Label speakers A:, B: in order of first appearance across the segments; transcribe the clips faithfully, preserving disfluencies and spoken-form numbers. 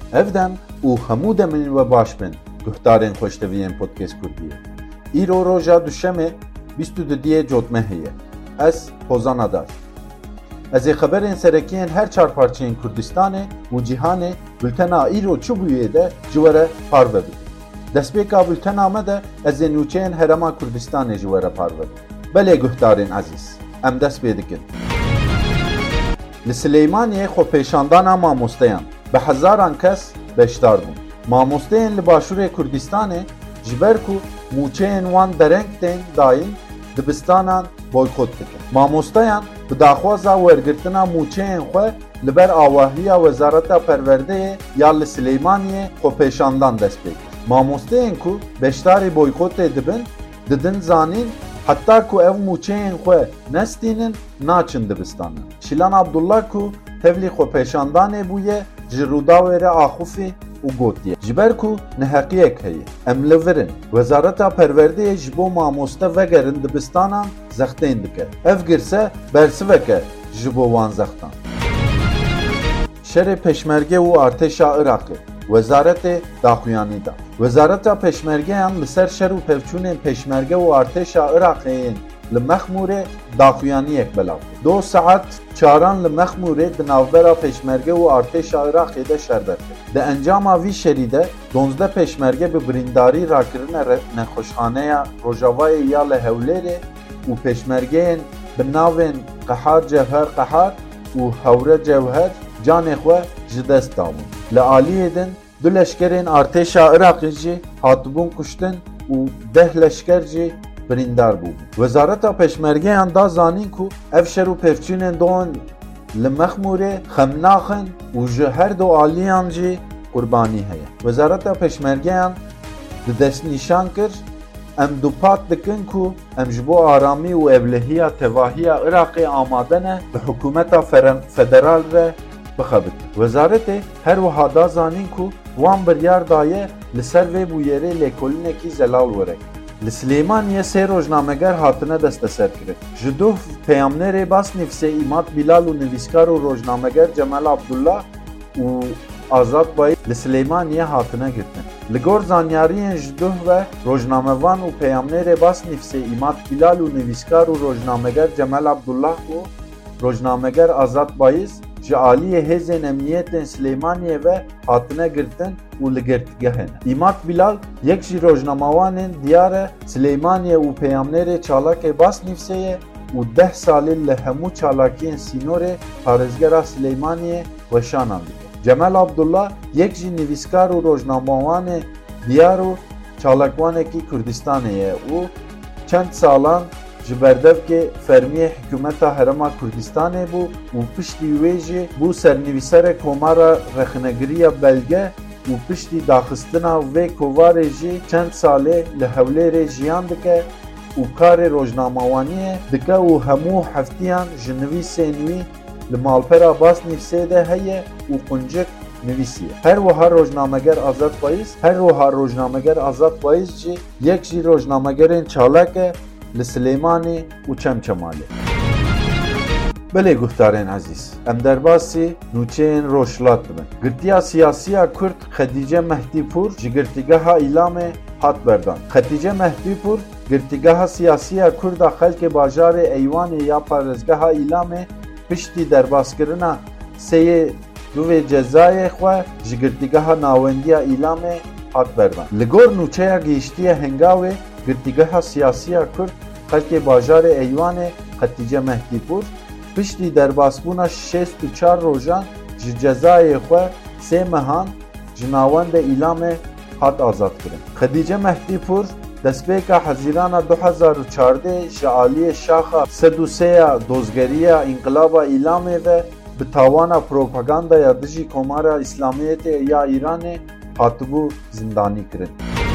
A: Evden û hemû demin ve baş bin guhdarên xweşteviyên podcast Kurdiyê. Îro roja duşemê bîst û dudiyê cotme heye. Ez Hozan Adar. Ez ê xeberên serekiyên her çar parçeyên Kurdistanê û cîhanê bültena îro çi bûyê de ji were parve bikim. Destpêka bültena me de ez ê nûçeyên Herêma Kurdistanê ji were parve bikim. Belê guhdarên ezîz, em dest pê dikin. Li Sileymaniyê xwepêşandana mamosteyan bi hezaran kes beşdar bûn. Mamosteyên li Başûrê Kurdistanê ji ber ku mûçeyên wan dereng tên dayîn dibistanan boykot dikin. Mamosteyan bi daxwaza wergirtina mûçeyên xwe li ber awahiya Wezareta Perwerdeyê ya li Sileymaniyê xwepêşandan dest pê kir. Mamosteyên ku beşdarî boykotê dibin, didin zanîn hatta ku ev mûçeyên xwe nestînin naçin dibistanan. Şilan Abdullah ku tevlî xwepêşandanê bûye ji Rûdawê re axufî û gotiye. Ji ber ku neheqiyek heye, em li virin. Wezareta Perwerdeyê ji bo mamoste vegerin dibistanan zextên dike. Ev girse bersiveke ji bo wan zextan. Şerê Peşmerge û Artêşa Iraqê Wezaretê daxuyanî da. Wezareta Peşmergeyan li ser şer û pevçûnên Peşmerge û Artêşa Iraqê li Mexmûrê daxuyaniyek belav. Do saet çaran li Mexmûrê di navbera Peşmerge û Artêşa Iraqê de şerber kir. Di encama vî şerî de donzde Peşmerge bi birîndarî rakirine nexweşxaneya Rojavayê ya li Hewlêrê û Peşmergeyên bi navên Qehar Cevher Qehar û Hewre Cevher canê xwe ji dest dabûn. Li aliyê din du leşkerên Artêşa Iraqê jî hatibûn kuştin û deh leşker jî birîndar bû. Wezareta Peşmergeyan da zanîn ku ev şer û pevçûnên don li Mexmûrê xemnaxin û ji her du aliyan jî qurbanî heye. Wezareta Peşmergeyan di destnîşan kir em dupat dikin ku em ji bo aramî û evlehiya tevahiya Iraqê amade ne bi hikûmeta federal re bixebit. Wezaretê her wiha da zanîn ku wan biryar daye li ser vê bûyerê lêkolînekî zelal werek. Li Sileymaniyê sê rojnameger hatine desteserkirin. Ji du peyamnerê Basnîvsê İmat Bilal û nivîskar û rojnameger Cemal Abdullah û Azad Bayî li Sileymaniyê hatine girtin. Li gor zanyariyên ji du ve rojnamevan û peyamnerê Basnîvsê İmat Bilal û nivîskar û rojnameger Cemal Abdullah û rojnameger Azad Bayî ji aliyê hêzên emniyetên Sileymaniyê ve hatine girtin û li girtgehên. İmat Bilal yek jî rojnamawanên diyare Sileymaniyê û peyamnerê çalakê Basnîvseyê û deh salî li hemû çalakiyên sînorê parêzgera Sileymaniyê weşanan dike. Cemal Abdullah yek jî nivîskar û rojnamawanê diyar û çalakwanekî Kurdistanê ye û çend salan ji berdevkê fermiyê hikûmeta Herêma Kurdistanê bû û piştî wê jî bû sernivîserek komara rexnegiriya belge û piştî daxistina vê kovarê jî çend salê li Hewlêrê jiyan dike û karê rojnamawaniyê dike û hemû heftiyan ji nivîsên wî li malpera Basnîvsê de heye û quncik nivîsiye. Her wiha rojnameger Azad Bayî, her wiha rojnameger Azad Bayî jî yek jî rojnamegerên çalak e li Sileymanî û Çemçemalê. Belê guhdarên ezîz, em derbasî nûçeyên Rojhilat dibin. Girtiya siyasiya Kurd Xetîce Mehdîpûr ji girtîgeha îlamê hat berdan. Xetîce Mehdîpûr girtîgeha siyasiya Kurd a xelkê bajarê Eywanê ya parêzgeha îlamê piştî derbaskirina seyê du vê cezayê xwe ji girtîgeha nawendiya îlamê hat berdan. Li gor nûçeya gihîştiya Hengavê girtîgeha siyasiya Kurd xelkê bajarê Eywanê Xetîce Mehdîpûr piştî derbasbûna şêst û çar rojan ji cezayê xwe sê mehan ji navendê îlamê hat azad kirin. Xetîce Mehdîpûr destpêka hezîrana du hezar û çardê ji aliyê şaxa sed û sê ya dozgeriya înqilaba îlamê ve bi tawana propagandaya dijî komara İslamiyetê ya Îranê hatibû zindanî kirin.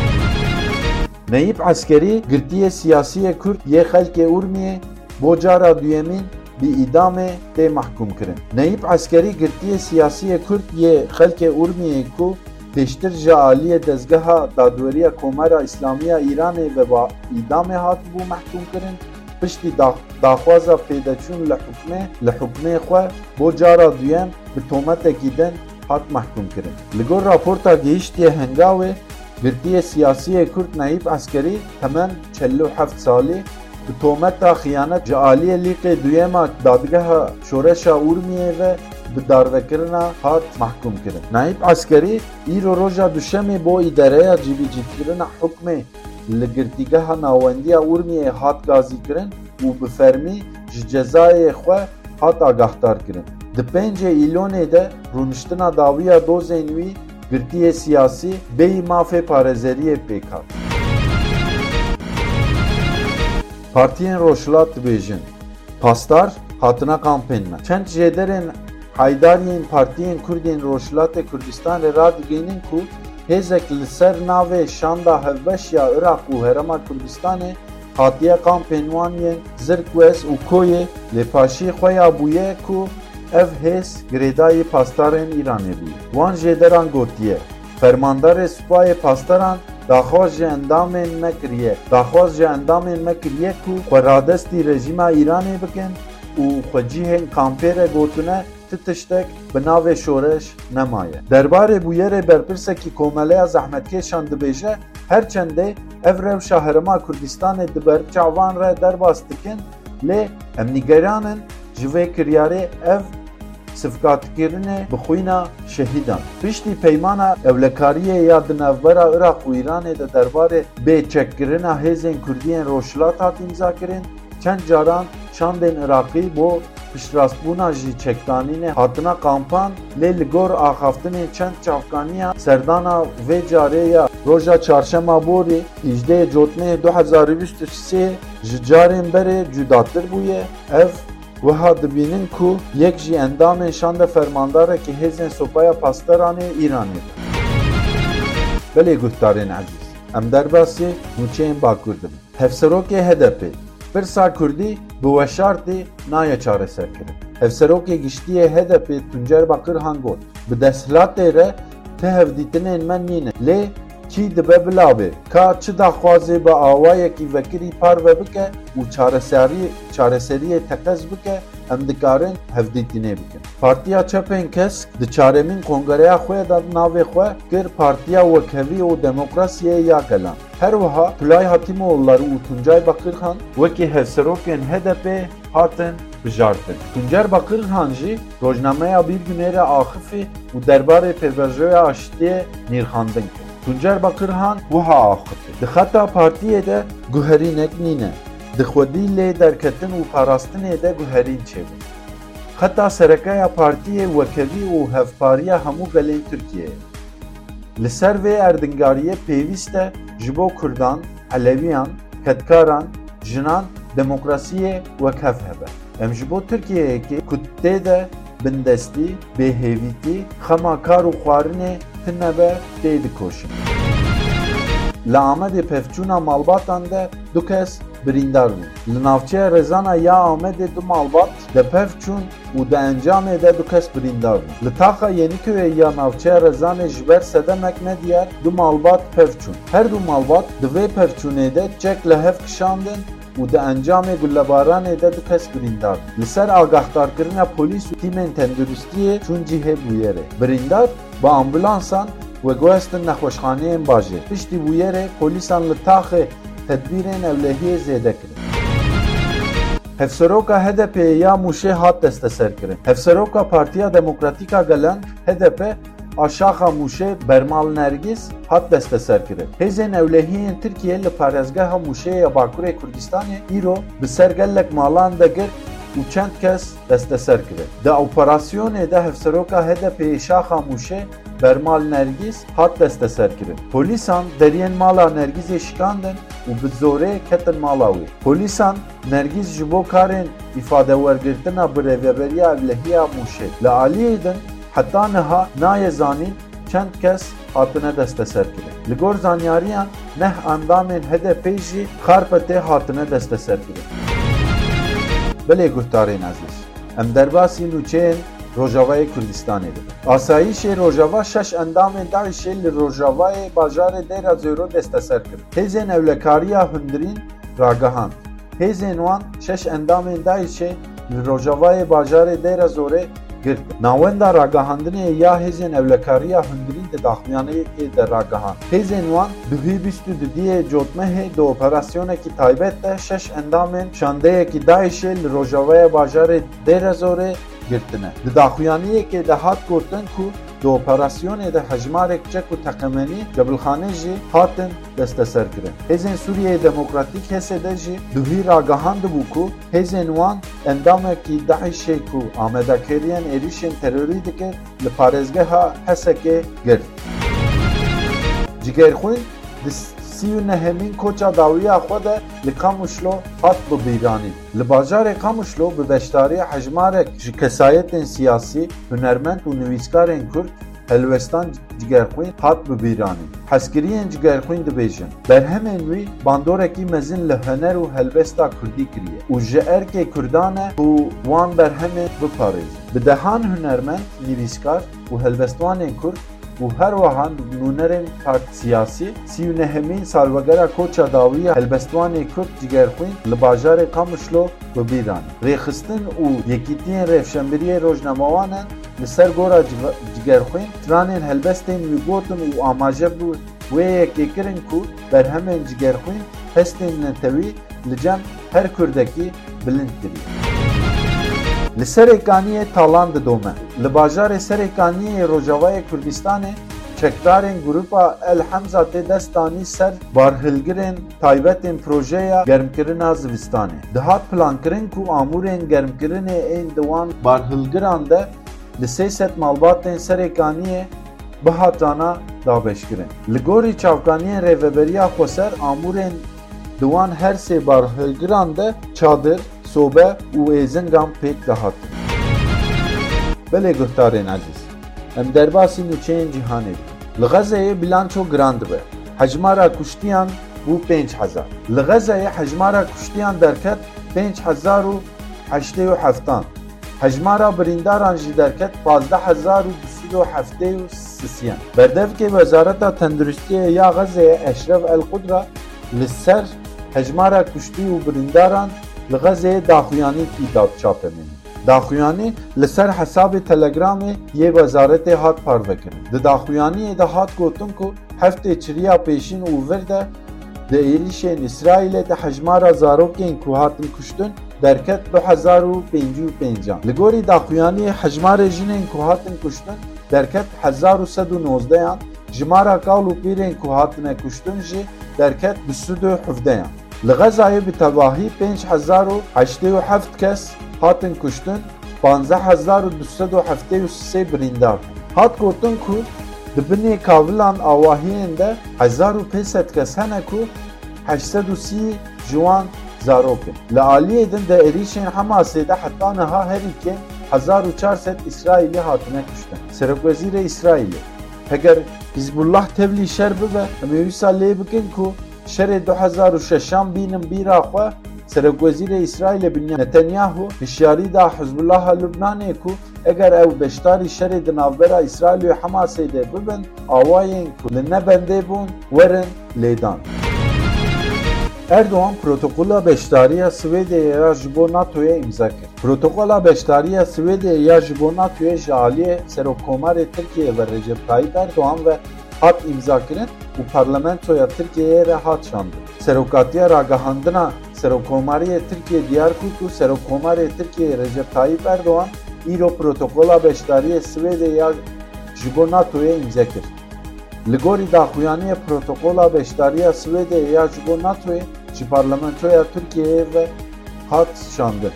A: Neyîb Eskerî girtiyê siyasiyê Kurd yê xelkê Urmiyê bo cara duyemîn bi îdamê tê mehkûm kirin. Neyîb Eskerî girtiyê siyasiyê Kurd yê xelkê Urmiyê ku pêştir ji aliyê dezgeha dadweriya komara İslamiya Îranê ve îdamê hatibû mehkûm kirin, piştî daxwaza pêdeçûn li hukmê li hukmê xwe bo cara duyem bi tometekî din hat mahkum kirin. Li gor raporta gihiştiye hengavê girtiye siyasiyê Kurd Naîb Eskerî temen çelli û heft salî bi tometa xıyanet ji aliyê lîqê duyema dadgeha şoreşa Urmiyê ve bi darvekirina hat mahkum kirin. Naîb Eskerî îro roja duşemê bo îdareya cîbîcîkirina hukmê li girtîgeha nawendiya Urmiyê hat gazî kirin û bi fermî ji cezayê xwe hat agahdar kirin. Di pêncê îlonê de rûniştina dawiya dozên wî girtiyê siyasî bêyî mafê parêzeriyê pêk hat. Partiyên Rojhilat dibêjin pastar hatina kampênme. Çend jêderên Haydariyên Partiyên Kurdên Rojhilatê Kurdistanê radigihînin ku hêzek li ser navê şanda hevbeşiya Iraq û Herêma Kurdistanê hatiye kampên wan yên Zirkwez û Koyê lêpaşî xwe ya bûye ku ev hêz girêdayî pastarên Îranê bûye. Wan jêderan gotiye fermandarê Supayê Pastaran daxwaz ji endamên me kiriye. Daxwaz ji endamên me kiriye ku xwe radestî rejîma Îranê bikin û xwe cihên kampê re gotine ti tiştek bi navê şoreş nemaye. Derbarê bûyerê berpirsekî komeleya zehmetkeşan dibêje herçendê ev rewşa Herêma Kurdistanê di ber çavan re derbas dikin lê em nîgeranin ji vê kiryarê ev sifqatkirinê bi xwîna şehîdan. Piştî peymana ewlekariyê ya di navbera Iraq û Îranê de derbarê bêçekkirina hêzên Kurdiyên Rojhilat hat îmzakirin, çend caran çandên Iraqî bo piştrastbûna jî çekdanînê hatina kampan lê li gor axaftinên çend çavkaniya serdana vê carê ya roja çarşema borî îjdeyê Cotmeyê du hezar û bîst û sê ji carên berê cudatir bûye. Ev wiha dibînin ku yek jî endamên şanda fermandarekî hêzên Supaya Pastaranê Îranê. Belê guhdarên ezîz, em derbasî nûçeyên Bakur dibin. Hevserokê H D P Pirsa Kurdî bi weşartî naye çareserkirin. Hevserokê giştiyê H D P Tuncer Bakırhan got bi desthilatê re ti hevdîtinên me nîne lê çî dibe bilabê ka çi daxwazê bi awayekî vekirî parve bike û çareserî çareseriyê teqez bike em dikarin hevdîtinê bikin. Partiya Çepên Kesk di çaremîn kongreya xwe de navê xwe kir Partiya Wekhevî û Demokrasiyê ya Gelan. Her wiha Tulay Hatîmoğulları û Tuncay Bakırhan wekî hevserokên H D P hatin bijartin. Tuncer Bakırhan jî rojnameya Bir Günê re axifî û derbarê pêvajoya aşitiyê nîrxandin kir. Tuncer Bakırhan wiha axifî. Di xeta partiyê de guherînek nîne. Di xwedî lê derketin û parastinê de guherîn çêbûn. Xeta serekaya partiyê Wekhevî û Hevpariya hemû gelên Tirkiyeyê. Li ser vê erdingariyê pêwîst e ji bo Kurdan, Elewiyan, Ketkaran, jinan demokrasiyê wekhev hebe. Em ji bo Tirkiyeyekê ku tê de bindestî, bêhêvîtî, xema kar û xwarinê tinebe tê dikoşin. Li Amedê pevçûna malbatan de du kes birîndar bûn. Li navçeya Rezana ya Amedê du malbat de pevçûn û di encamê de du kes birîndar bûn. Li taxa Yenîköyê ya navçeya Rezanê ji ber sedemek nediyar du malbat pevçûn. Her du malbat di vê pevçûnê de çek li hev kişandin û di encamê gullebaranê de du kes birîndar. Li ser agahdarkirina polîs û tîmên tenduristiyê çûn cihê bûyerê. Birîndar bi ambulansan ve guhestin nexweşxaneyên bajê. Piştî bûyerê polîsan li taxê tedbîrên ewlehiyê zêde kirin. Hevseroka H D P ya Mûşê hat desteserkirin. Hevseroka Partiya Demokratîk a Gelan H D P a şaxa Mûşê Bermal Nergîz hat desteserkirin. Hêzên ewlehiyên Tirkiye li parêzgeha Mûşê ya Bakurê Kurdistanê îro bi ser gelek malan de girt û çend kes desteser kirin. Di operasyonê de hevseroka H D P şaxa Mûşê Bermal Nergîz hat desteser kirin. Polîsan deriyên mala Nergîzê şikandin û bi zorê ketin mala wê. Polîsan Nergîz ji bo karên îfadewergirtina birêveberiya evlehiya Mûşê li aliyê din heta niha nayê zanîn çend kes hatine desteser kirin. Li gor zanyariyan neh endamên H D P jî xarpetê hatine desteser kirin. Belê guhdarên ezîz, em derbasî nûçeyên Rojavayê Kurdistanê dibin. Asayişê Rojava şeş endamên Daişê li Rojavayê bajarê Dêra Zêro desteser kirin. Hêzên ewlekariya hundirîn ragihand. Hêzên wan şeş endamên Daişê li Rojavayê bajarê Dêra Zorê girt. Navenda ragahandine ya hezên evlekariya hundirîn de daxuyaniyekê de ragahan. Hezên wan duhî bîst û du diye cotmehê di operasyonekî taybet de şeş endamên şandeyekî Daişê li Rojavayê bajarê Dêrezorê girtine. Di daxuyaniyekê de hat gotin ku di operasyonê de hejmarek çek û teqemenî Cebilxanê jî hatin desteserkirin. Hêzên Sûriyeyê Demokratîk Hesê de jî duhî ragahandibû ku hêzên wan endamekî Daişê ku amadekeriyên êrişên terorî dike li parêzgeha Hesekê girt. Cigerxwîn di sî û nehemîn koça dawiya xwe de li Kamuşlo hat bibîranîn. Li bajarê Kamuşlo bi beşdariya hejmarek ji kesayetên siyasî, hunermend û nivîskarên Kurd Helwestan Cigerxwîn hat bibîranîn. Hezkiriyên Cigerxwîn dibêjin berhemên wî bandorekî mezin li huner û helbesta Kurdî kiriye û ji erkê Kurdan e û wan berhemê biparêzin. Bi dehan hunermend, nivîskar û helbestwanên Kurd û her wiha nûnerên partî siyasî sî û nehemîn salvegera koça dawiya helbestwanê Kurd Cigerxwîn li bajarê Kamuşlo bibîranîn. Rêxistin û yekîtiyên revşemberiyê rojnamawanan li ser gora Cigerxwîn stranên helbestên wî gotin û amaje bû wê yekêkirin ku berhemên Cigerxwîn hestên netewî li cem her Kurdekî bilind kiriye. Li Serêkaniyê talan didome. Li bajarê Serêkaniyê Rojavayê Kurdistanê çekdarên grupa El Hemza tê destanî ser barhilgirên taybetên projeya germkirina zivistanê. Dihat plankirin ku amûrên germkirinê ên di wan barhilgiran de li sê sed malbatên Serêkaniyê bihatana dabeşkirin. Li gorî çavkaniyên rêveberiya Xweser amûrên di wan her sê barhilgiran de çadir, sobe û êzingan pêk dihatin. Belê guhdarên ezîz, em derbasî nûçeyên cîhanê dikin. Li Xezeyê bilanço giran dibe. Hejmara kuştiyan bû pênc hezar. Li Xezeyê hejmara kuştiyan derket pênc hezar û heştê û heftan. Hejmara birîndaran jî derket pazdeh hezar û du sed û heftê û sisiyan. Berdevkê Wezareta Tenduristiyê ya Xezeyê Eşref El-Qudra li ser hejmara kuştî û birîndaran li Xezeyê daxuyanî dat çapemîn. Daxuyanî li ser hesabê Telegramê yê Wezaretê hat parvekirin. Di daxuyaniyê de hat gotin ku heftê çiriya pêşîn û vir de di êrişên İsraîlê de hejmara zarokên ku hatin kuştin derket du hezar û pêncî û pêncan. Li gorî daxuyaniyê hejmarê jinên ku hatin kuştin derket hezar û sed û nozdeyan, jimara kawl û pîrên ku hatine kuştin jî derket du sed û hevdeyan. Li Xezayê bi tevahî pênc hezar û heştê û heft kes hatin kuştin, panzdeh hezar û du sed û heftê û sê birîndar. Hat gotin ku di binê kavilan awahiyên de hezar û pênc sed kes hene ku heşt sed û sî ji wan zarok in. Li aliyê din de êrişên Hemasê de heta niha herîkên hezar û çar sed İsraîlî hatine kuştin. Serokwezîrê İsraîlê: Heger Hizbullah tevlî şer bibe, em ê wîsa lê bikin ku şerê du hezar û şeşan bînin bîra xwe. Serokwezîrê İsraîlê Binyamin Netanyahu hişyarî da Hizbullaha Lubnanê ku eger ew beşdarî şerê di navbera İsraîl û Hemasê de bibin, awayên ku li nebendê bûn werin lêdan. Erdoğan protokola beşdariya Swêdeyê ya ji bo NATOyê imza kir. Protokola beşdariya Swêdeyê ya ji bo NATOyê ji aliyê Serokkomarê Tirkiye ve Recep Tayyip Erdoğan ve hat imzakirin û parlamentoya Tirkiyeyê re hat şandin. Serokatiya ragahandina Serokkomariyê Tirkiye diyar kir ku Serokkomarê Tirkiye Recep Tayyip Erdoğan îro protokola beşdariyê Swêdeyê ya ji bo NATOyê imza kir. Li gorî daxuyaniyê protokola beşdariya Swêdeyê ya ji bo NATOyê ji parlamentoya Tirkiyeyê ve hat şandin.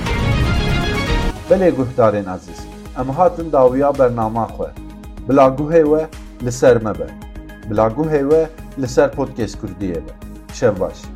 A: Belê guhdarên ezîz, em hatin dawiya bernama xwe. Bila guhê we li ser me be. Bila guhê we li ser Podcast Kurdiyê be. Şev baş.